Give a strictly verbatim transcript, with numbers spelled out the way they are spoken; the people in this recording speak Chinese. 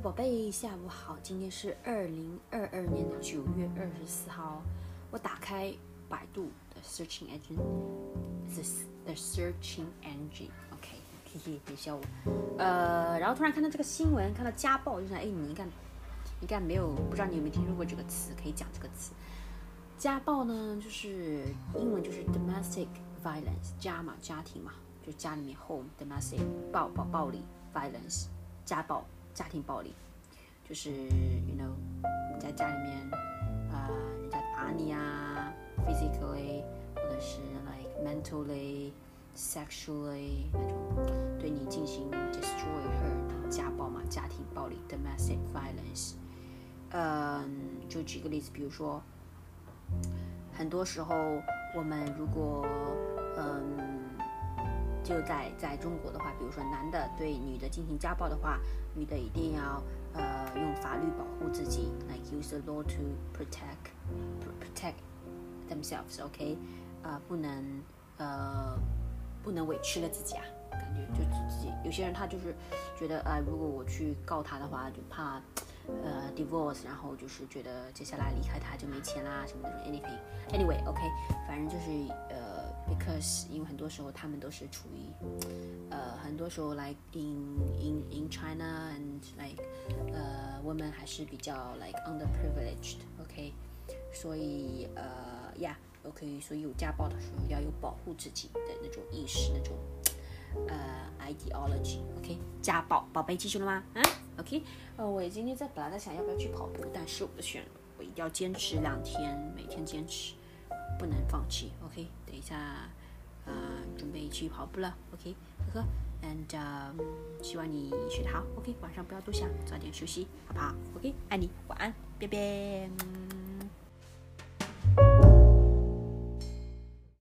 宝贝，下午好，今天是二零二二年的九月二十四号。我打开百度的 searching engine，the the searching engine，OK，、okay, 嘿嘿，别笑我。呃，然后突然看到这个新闻，看到家暴，就想，哎，你应该应该没有，不知道你有没有听说过这个词，可以讲这个词。家暴呢，就是英文就是 domestic violence， 家嘛，家庭嘛，就家里面 home domestic 暴暴暴力 violence， 家暴。家庭暴力就是 you know 你在家里面呃人家打你啊 physically 或者是 like mentally sexually 那种对你进行 destroy her 家暴嘛，家庭暴力 domestic violence。 嗯，就举个例子，比如说很多时候我们如果嗯就在在中国的话，比如说男的对女的进行家暴的话，女的一定要呃用法律保护自己 ，like use the law to protect protect themselves，OK，、okay? 呃不能呃不能委屈了自己啊，感觉就自己有些人他就是觉得呃如果我去告他的话，就怕呃 divorce， 然后就是觉得接下来离开他就没钱啦什么的 anything，anyway，OK，、okay, 反正就是呃。Because 因为很多时候他们都是处于呃很多时候 like in in in China and like 呃 women 还是比较 like underprivileged OK， 所以呃 yeah OK， 所以有家暴的时候要有保护自己的那种意识，那种呃 ideology OK。 家暴宝贝记住了吗？啊 OK， 呃我今天在本来在想要不要去跑步，但是我选我一定要坚持两天，每天坚持，不能放弃 OK。 等一下呃准备去跑步了 OK， 呵呵 and、uh, 希望你学得好 OK， 晚上不要多想，早点休息好不好 OK， 爱你，晚安，拜拜。